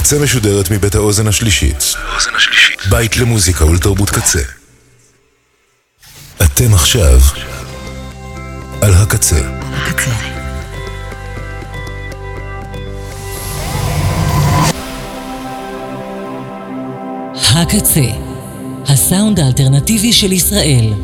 הקצה משודרת מבית האוזן השלישית. בית למוזיקה ולתרבות קצה. אתם עכשיו על הקצה. הקצה, הסאונד האלטרנטיבי של ישראל.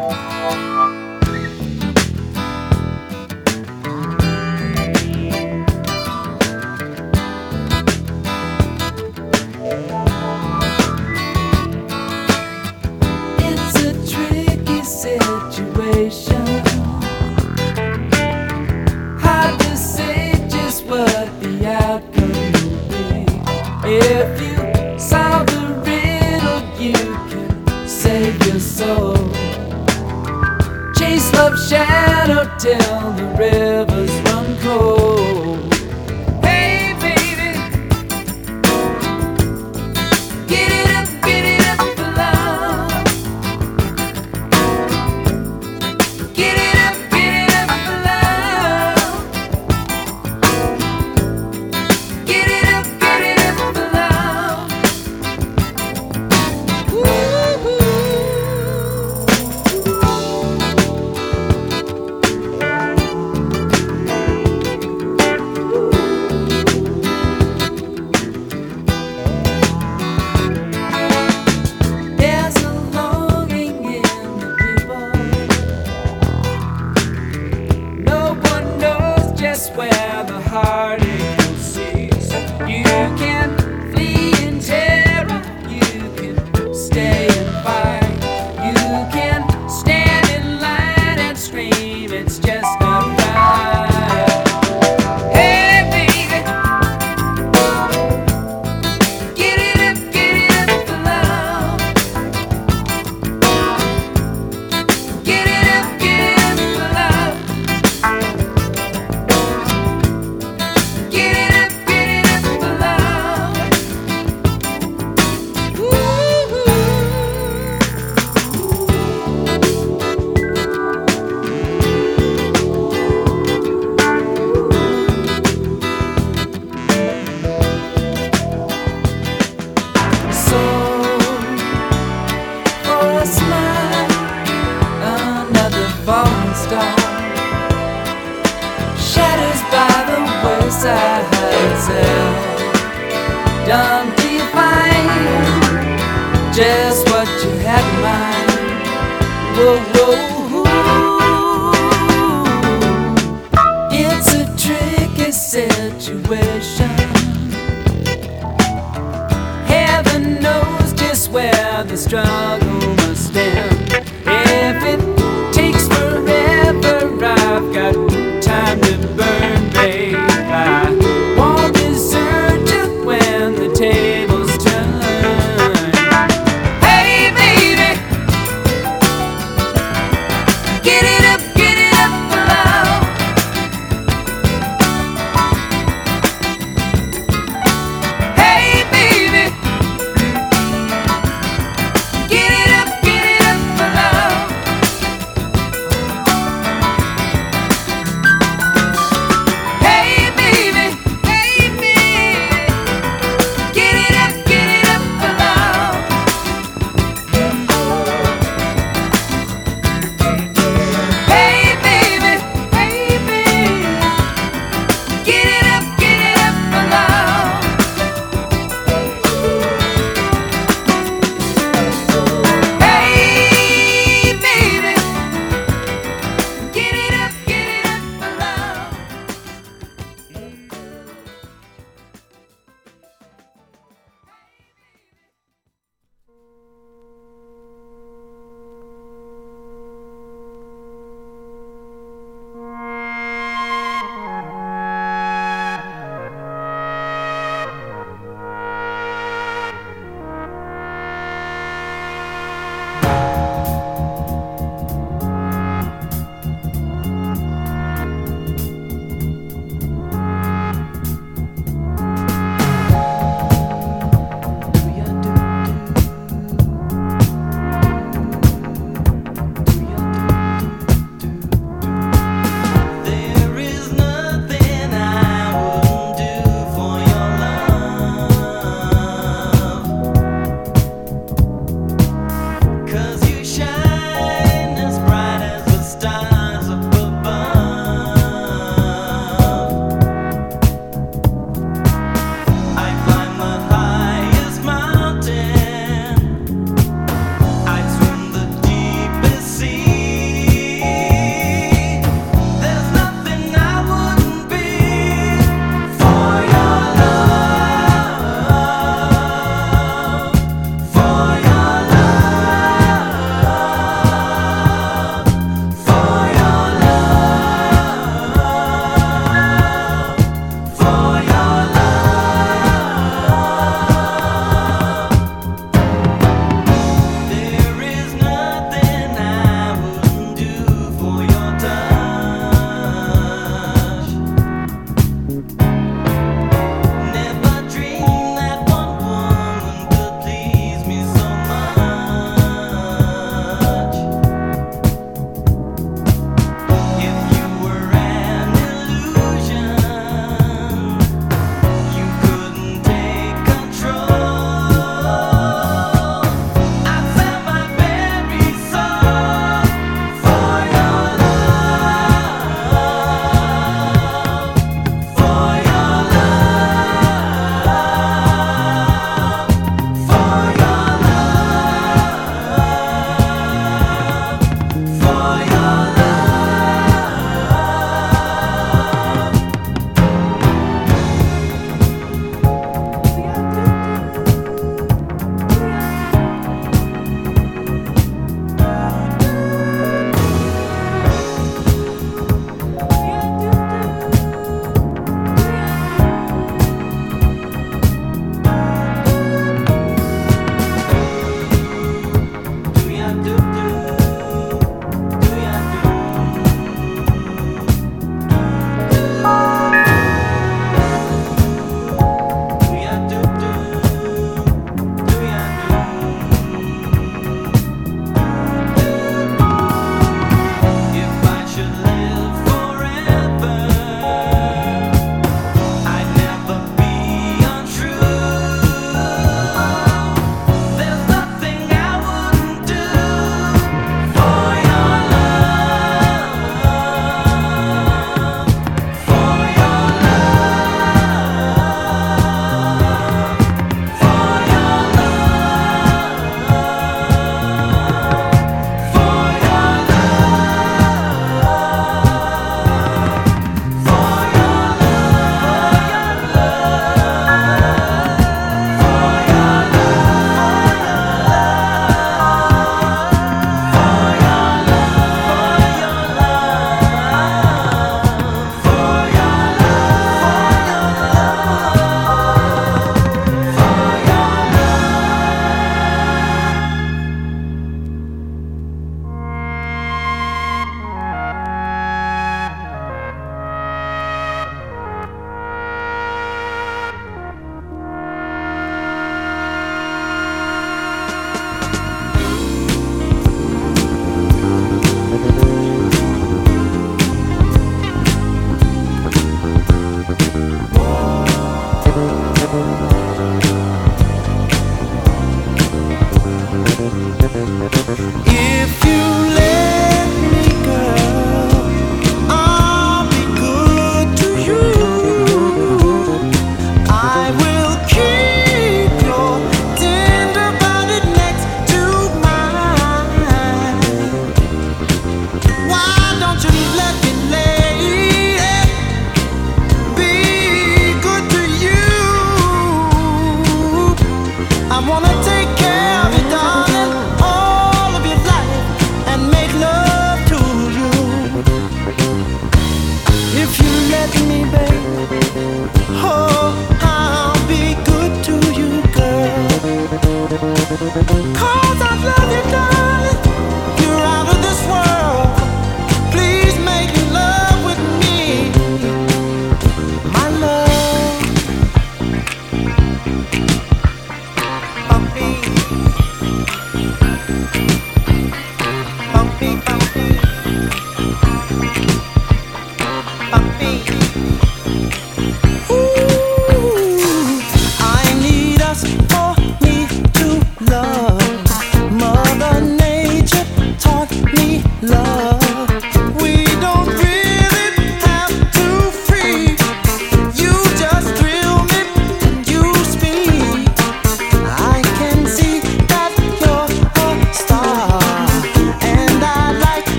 If you solve the riddle, you can save your soul. Chase love's shadow till the rivers run cold. Hey baby, get it up for love. Get it up for love. Get it up for love. Woo-hoo. There's a longing in the people. No one knows just where the heartache will cease. You can flee in terror, you can stay and fight, you can stand in line and scream, it's just not right. Hey baby, get it up for love. Get it up for love. Get it up for love. Woo-hoo. So, for a smile, another falling star shatters by the wayside itself. Done to you find just what you had in mind. Whoa, whoa, it's a tricky situation. Heaven knows just where the struggle must end. If it takes forever, I've got time to burn, babe. I won't desert you when the tables turn. Hey baby, get it up for love. Hey baby, get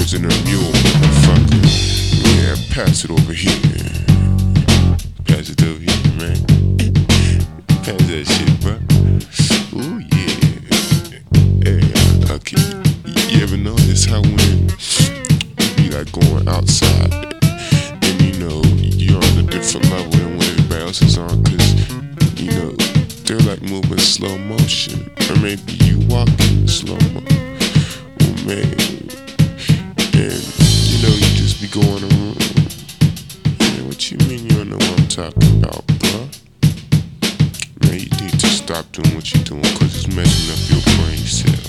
in a mule, motherfucker. Yeah, pass it over here. Pass it over here, man. Pass that shit, bro. Ooh, yeah. Yeah, okay. You ever notice how when you be like going outside and you know you're on a different level than what everybody else is on, cause you know they're like moving slow motion, or maybe you walking in slow mo. Oh man, and you know you just be going around. Man, what you mean you don't know what I'm talking about, bro? Man, you need to stop doing what you're doing, cause it's messing up your brain cell.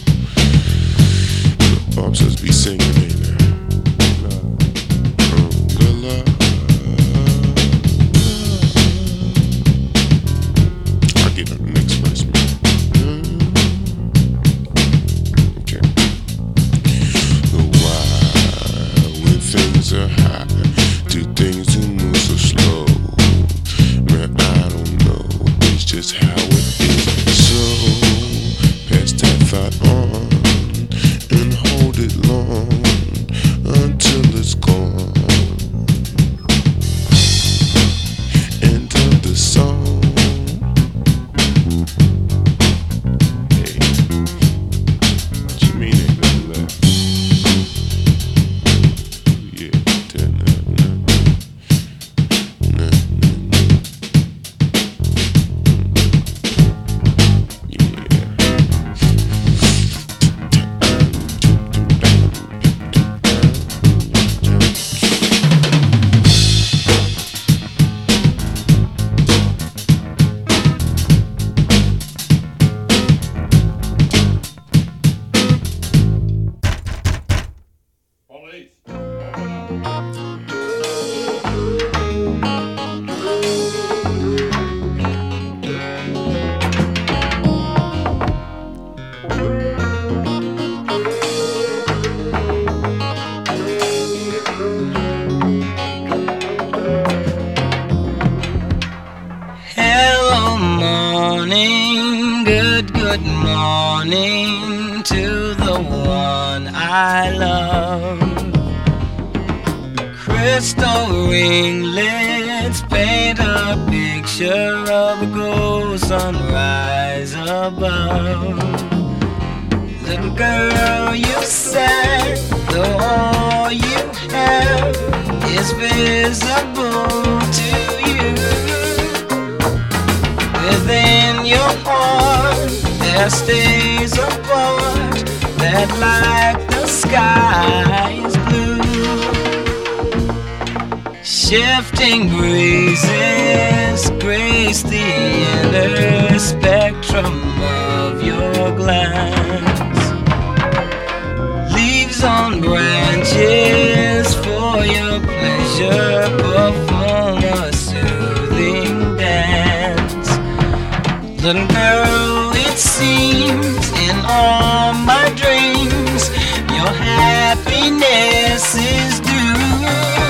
I'm supposed to be singing, ain't I? I'll get on the next verse, man. Okay. Why, when things are high, do things do move so slow? Man, I don't know. It's just how it is. So, pass that thought on and hold it long until it's gone. End of the song. Hey, what you mean ain't nothing left? Yeah, Hello, morning, good morning to the one I love. Crystal ringlets paint a picture of a gold sunrise above. Little girl, you said though all you have is visible to you. Within your heart there stays a part that like the sky is blue. Shifting breezes grace the inner spectrum of your glance. Leaves on branches for your pleasure perform a soothing dance. Little girl, it seems in all my dreams your happiness is due,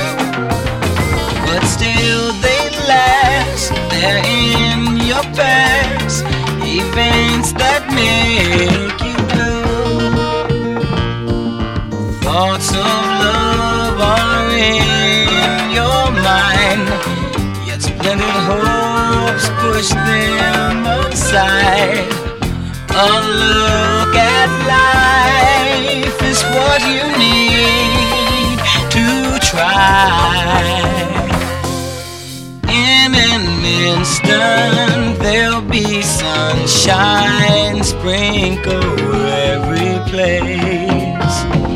but still they last. They're in your past, events that make you blue. Thoughts of love are in your mind, yet splendid hopes push them aside. A look at life is what you need to try. In an instant there'll be sunshine sprinkle every place.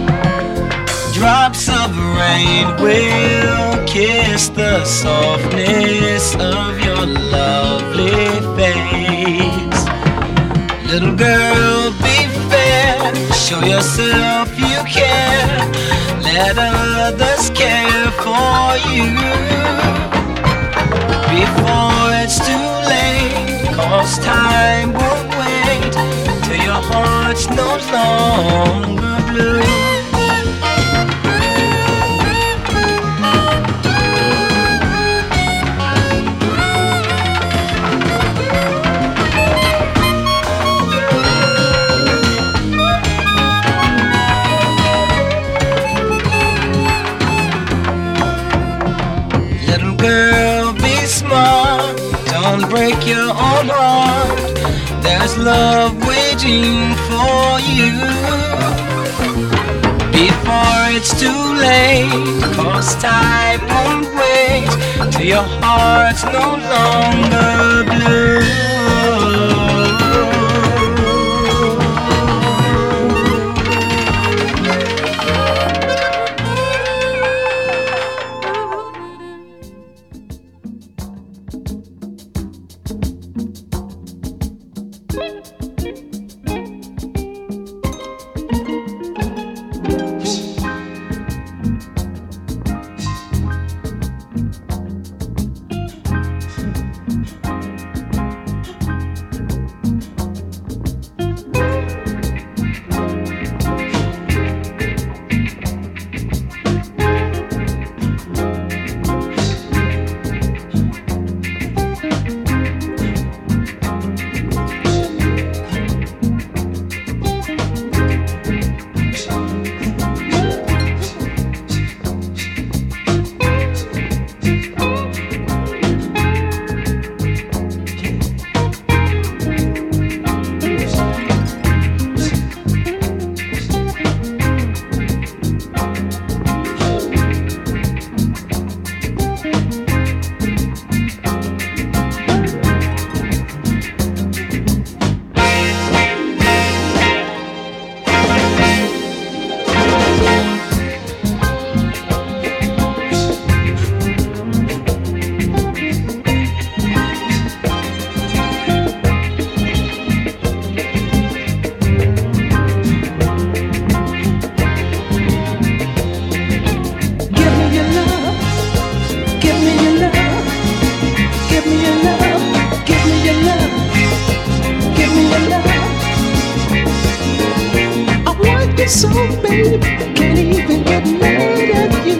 Drops of rain will kiss the softness of your lovely face. Little girl, be fair, show yourself you care. Let others care for you before it's too late, 'cause time won't wait till your heart's no longer blue. love waiting for you before it's too late, 'cause time won't wait till your heart's no longer blue. So baby, can't even get mad at you.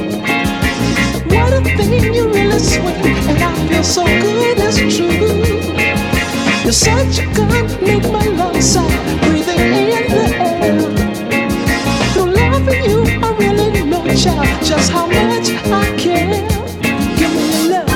What a thing, you really sweet, and I feel so good, it's true. You're such a gun, make my lungs sound, breathing in the air. Through loving you, I really know, child, just how much I care. Give me your love.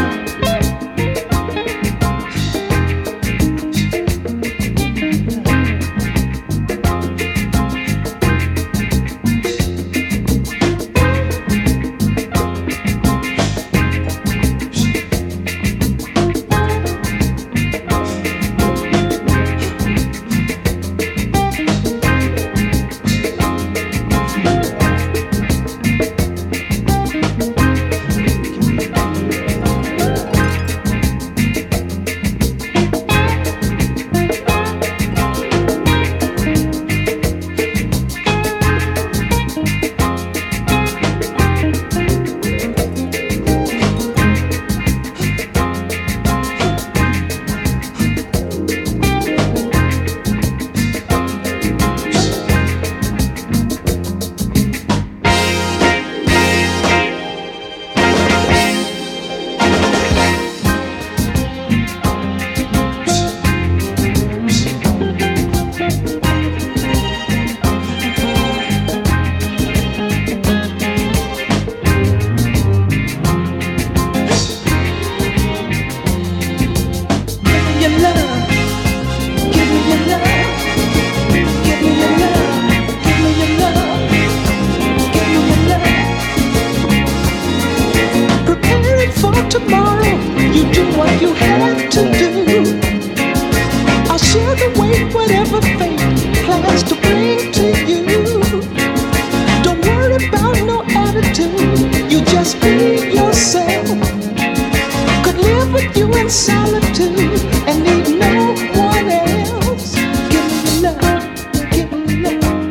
Tomorrow, you do what you have to do. I'll share the weight, whatever fate plans to bring to you. Don't worry about no attitude, you just be yourself. Could live with you in solitude and need no one else. Give me your love, give me your love,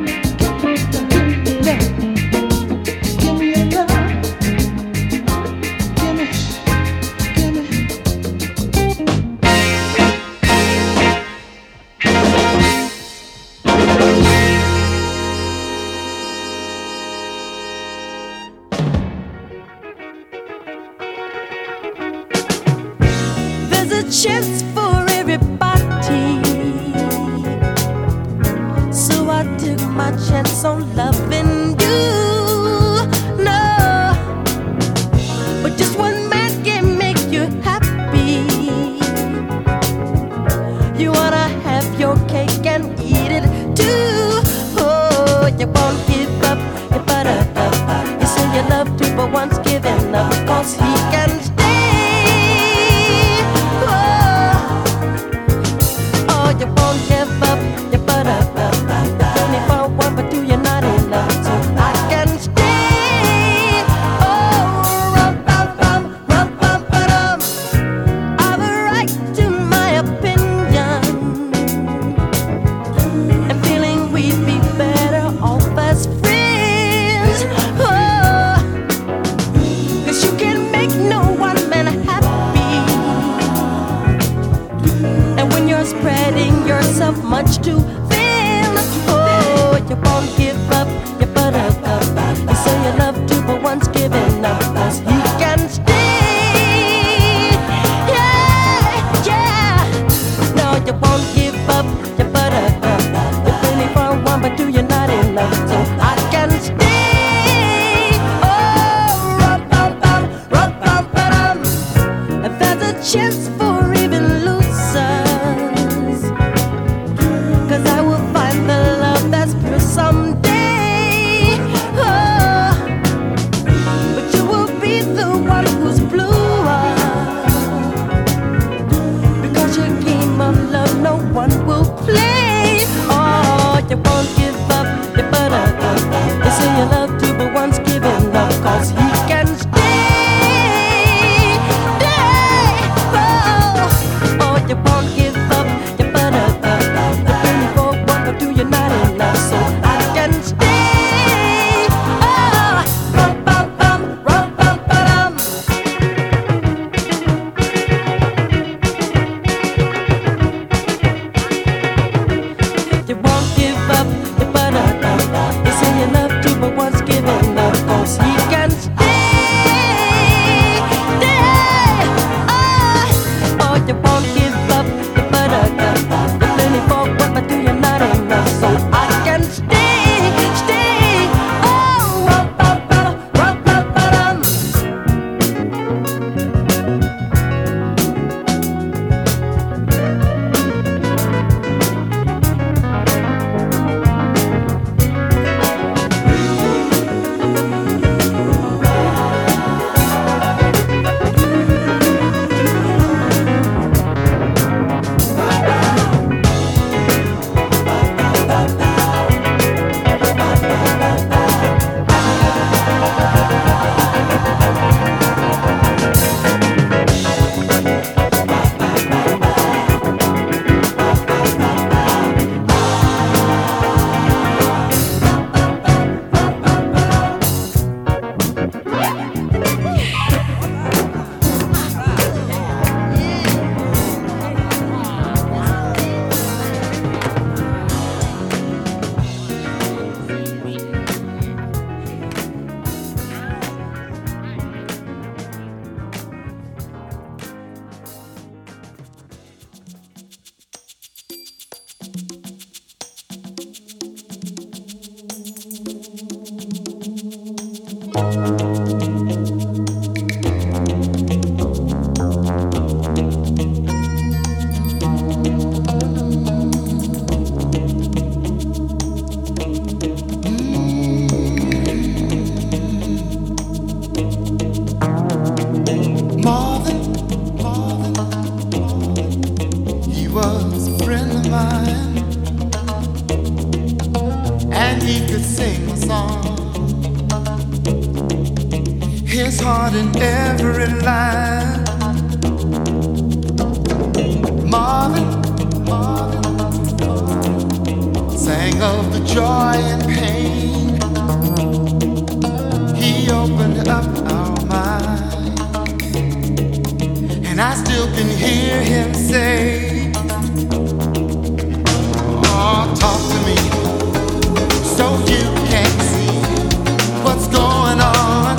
give me your love. Chance for everybody, so I took my chance on loving you. No, but just one man can make you happy. You wanna have your to feel. Oh, you won't give up your buttercup. You say you love to, but once given up, 'cause he can stay. Yeah, yeah. No, you won't give up your buttercup. You're really for one, but do you not enough? So I can stay. Oh, rum bum bum, rum bum ba-dum. If there's a chance for even losers, 'cause I will find the love that's pure someday. Oh, but you will be the one who's bluer, because your game of love no one will play. Oh, you won't give up your buttercup. You say you love to, but once given up, 'cause he can stay. Stay. Oh, oh, you won't give up your buttercup. You're really for one, but do you not enough? So I can stay. Oh, rum bum bum, rum bum ba-dum. You won't give up your buttercup. You say you love to, but once given up, 'cause he can stay. Stay. Oh, you won't give up your buttercup. You're plenty for one, but do you not enough? So I can stay. Stay. Oh, rum bum bum, rum bum ba-dum. Marvin, he was a friend of mine, and he could sing a song. His heart in every line. Marvin sang of the joy and pain. He opened up our mind, and I still can hear him say, oh, talk to me so you can see what's going on.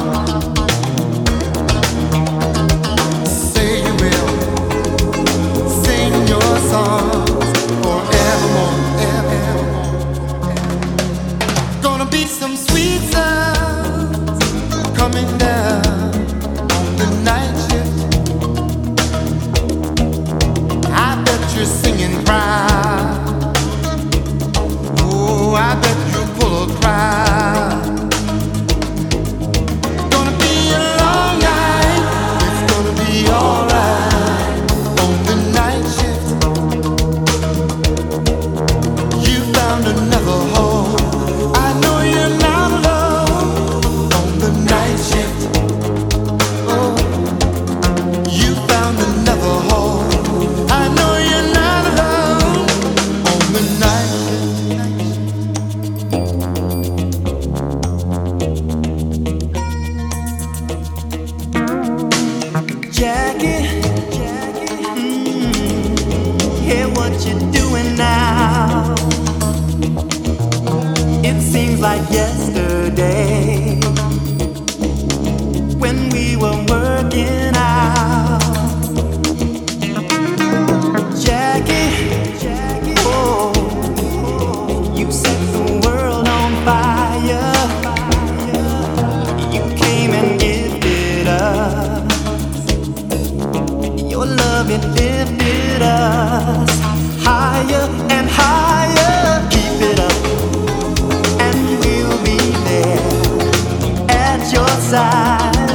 Say you will sing your songs forevermore, evermore. Gonna be some sweet sounds coming down on the night shift. I've seems like yesterday when we were working out. Jackie, oh, you set the world on fire. You came and gifted us your love, it lifted us higher and higher. Keep it up, and we'll be there at your side.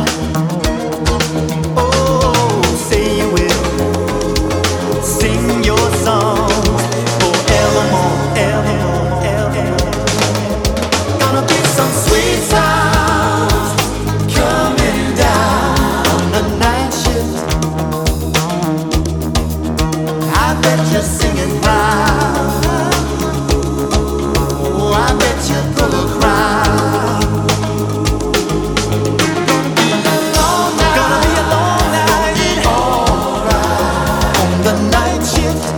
Oh, say you will sing your songs forevermore, evermore, evermore. Gonna be some sweet sounds coming down the night shift. I bet you're singing proud. Oh, I bet you're full of crowd. Gonna be a long night, alright. On the night shift,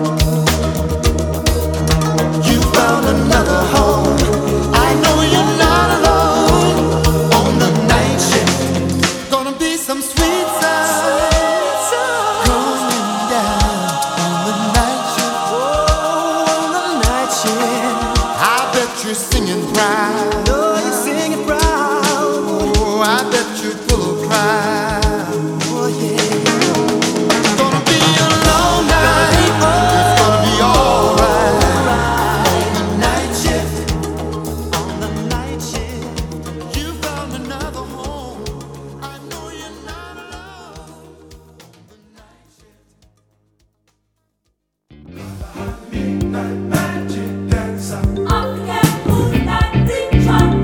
you found another home. I know you're not alone. On the night shift, gonna be some sweet sounds coming down on the night shift. Oh, on the night shift, I bet you're singing proud. Oh, you're singing proud. Oh, I bet you're full of pride. Oh, yeah. It's gonna be a long night. It's gonna be alright. On the night shift, on the night shift, you found another home. I know you're not alone. Midnight magic dancer.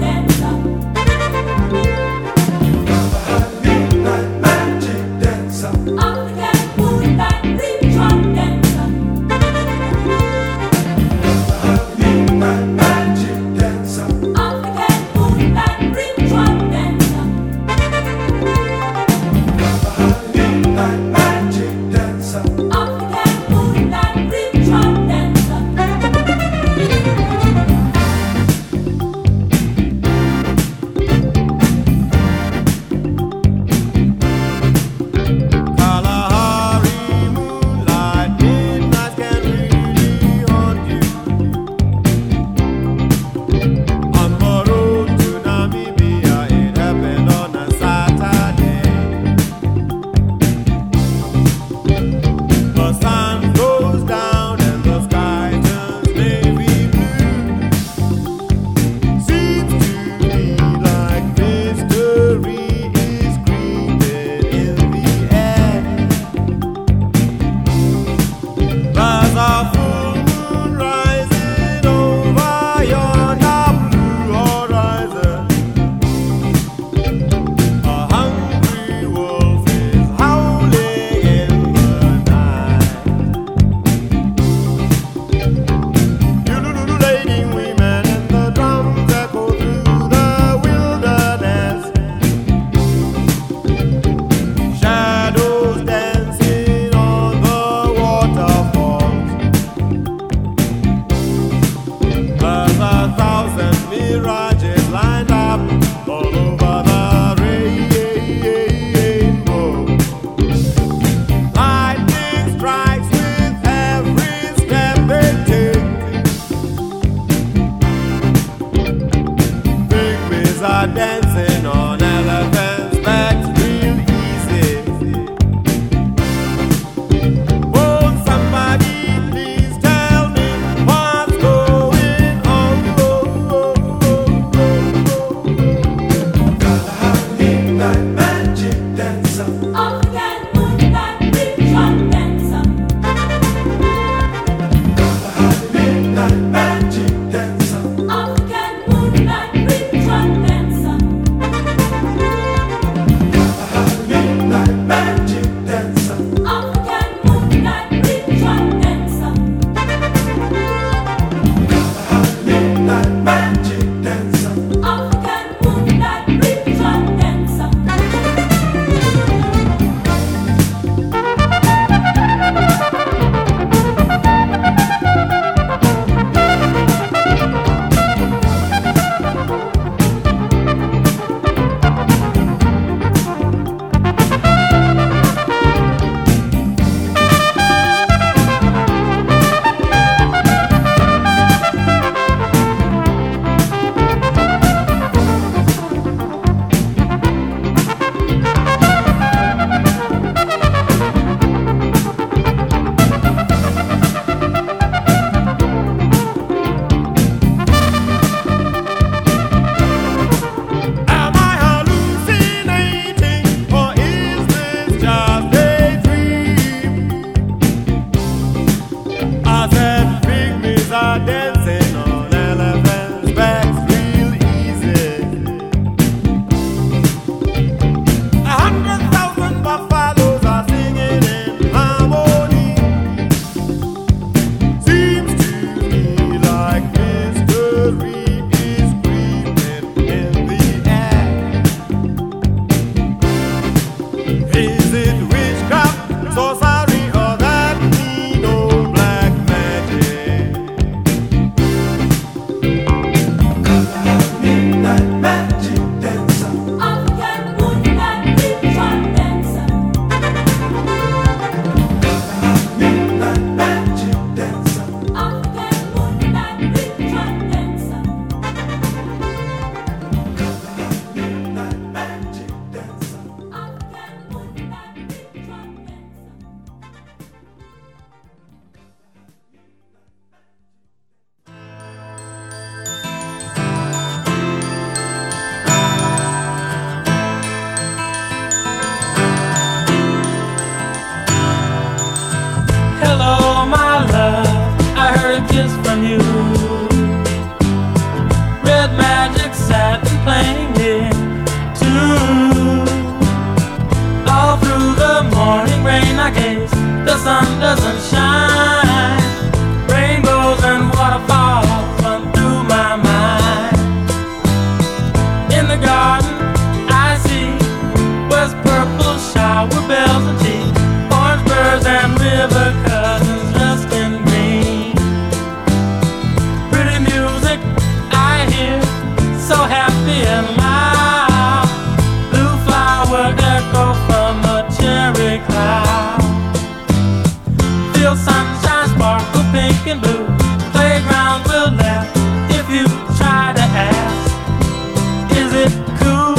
my gaze, the sun doesn't shine. Rainbows and waterfalls run through my mind. In the garden I see was purple shower bells and tea, orange birds and river cousins dressed in green. Pretty music I hear, so happy and loud. Blue flower echo from a cherry cloud. Feel sunshine sparkle pink and blue. Playground will laugh if you try to ask, is it cool?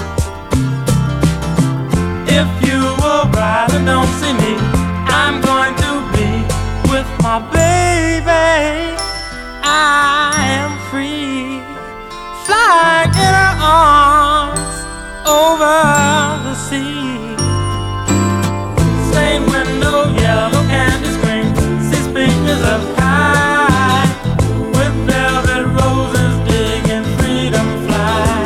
If you arrive and don't see me, I'm going to be with my baby. I am free, flying in her arms over the sea. Same window, yellow candy screen, see speakers up high, with velvet roses digging freedom fly.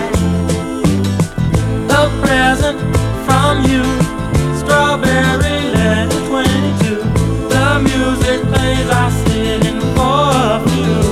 A present from you, strawberry letter 22. The music plays, I sit in for a few.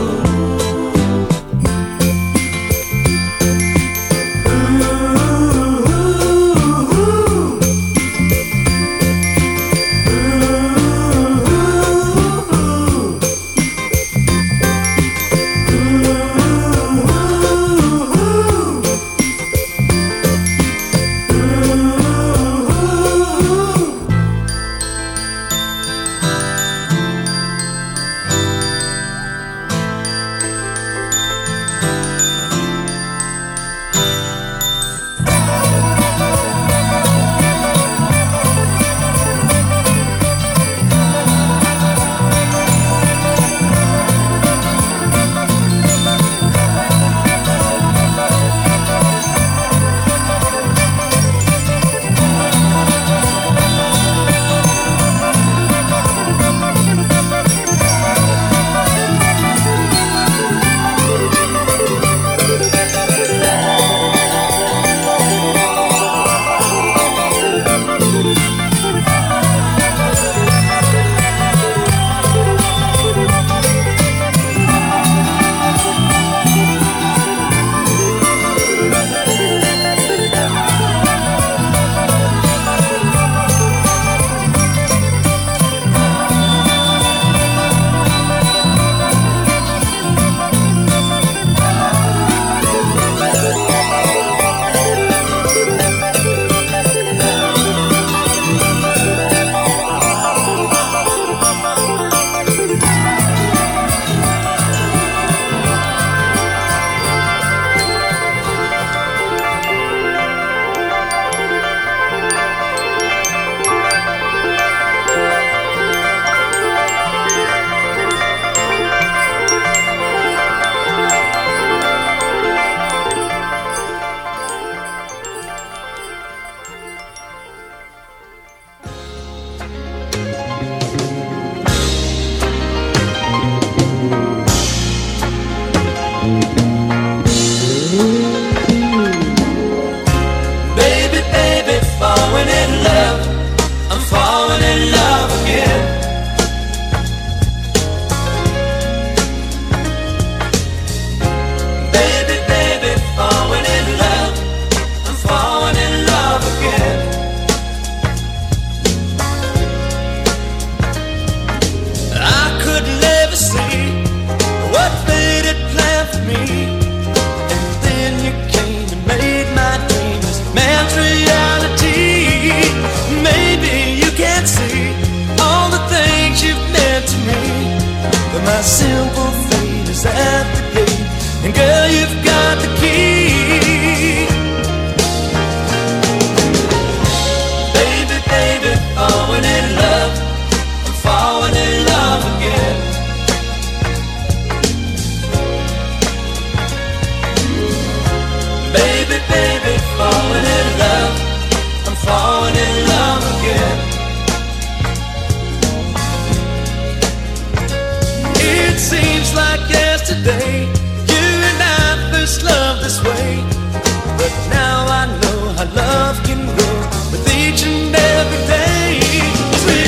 My simple fate is at the gate, and girl, you've got the key. Baby, baby, falling in love, I'm falling in love again. Baby, baby, falling in love, I'm falling in love again. It seems like yesterday you and I first loved this way, but now I know how love can grow with each and every day.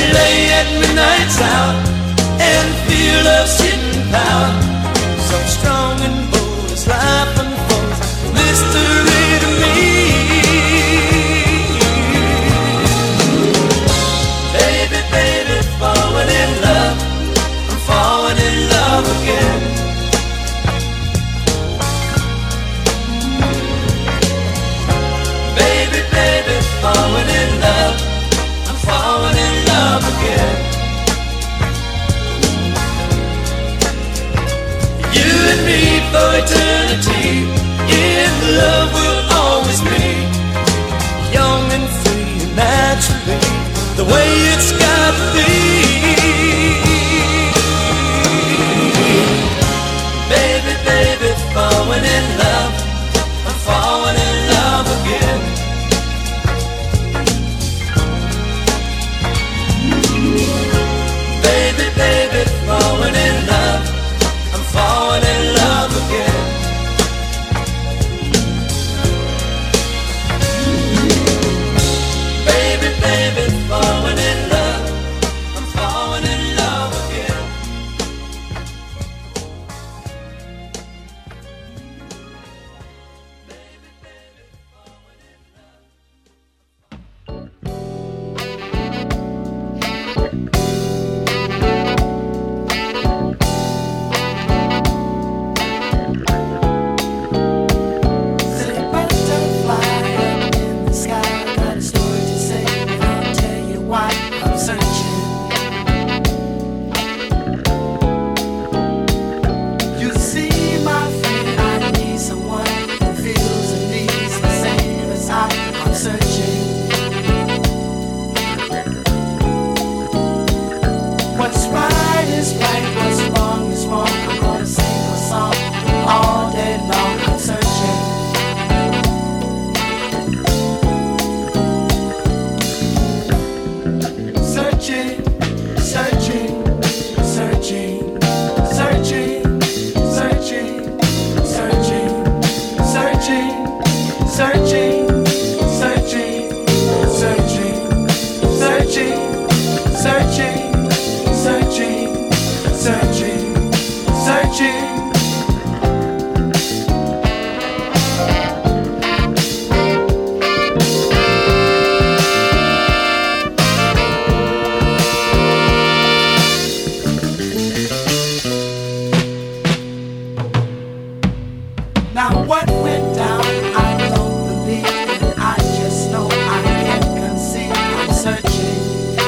Now what went down, I don't believe, and I just know I can't conceive. I'm searching.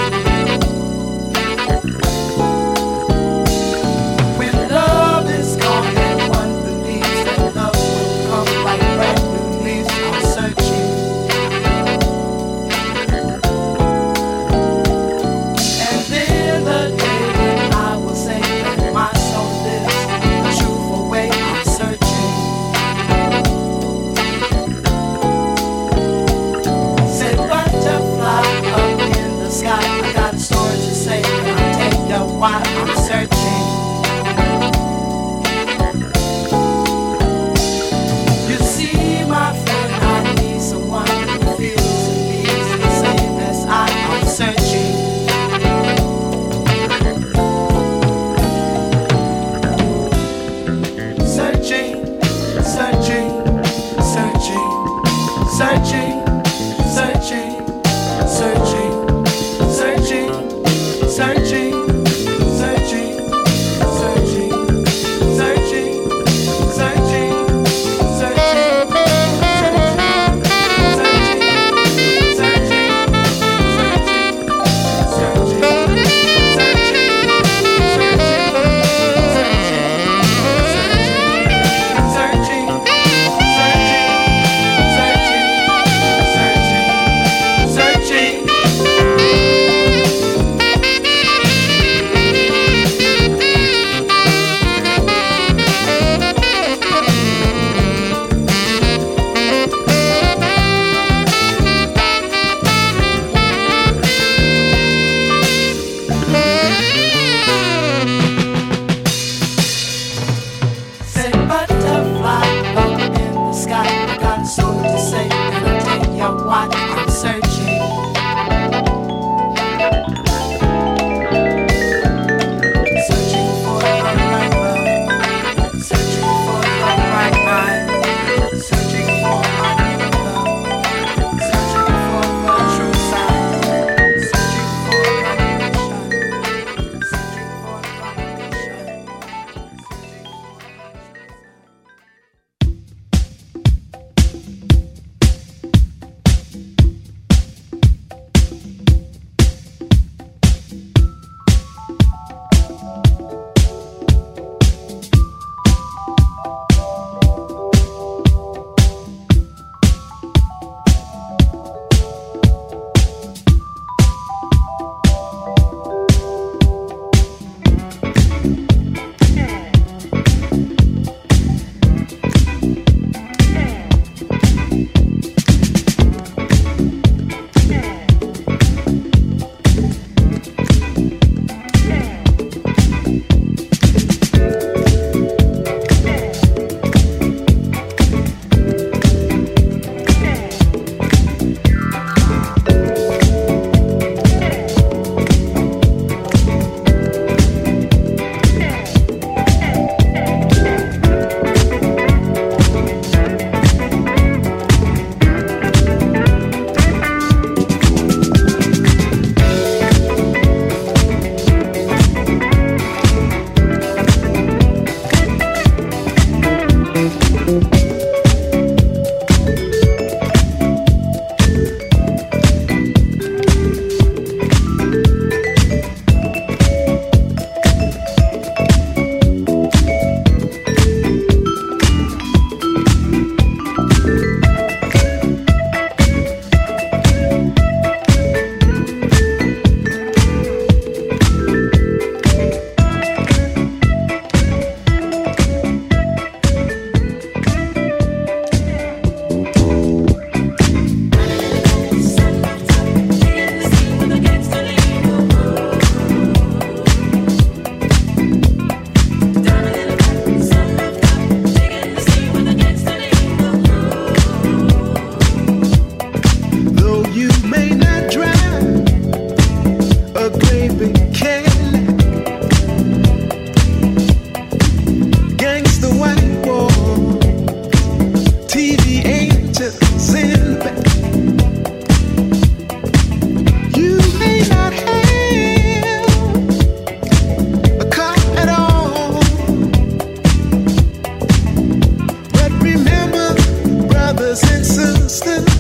When love is gone and one believes that love will come like brand new leaves, I'm searching. And then the day when I will say that my soul lives a truthful way, I'm searching. Said butterfly up in the sky, I got a story to say, and I'll tell you why I'm searching. You see, my friend, I need someone who feels and needs the same as I'm searching. Searching, searching, searching, searching, searching, searching, searching, searching, searching, searching, searching, searching, searching, through.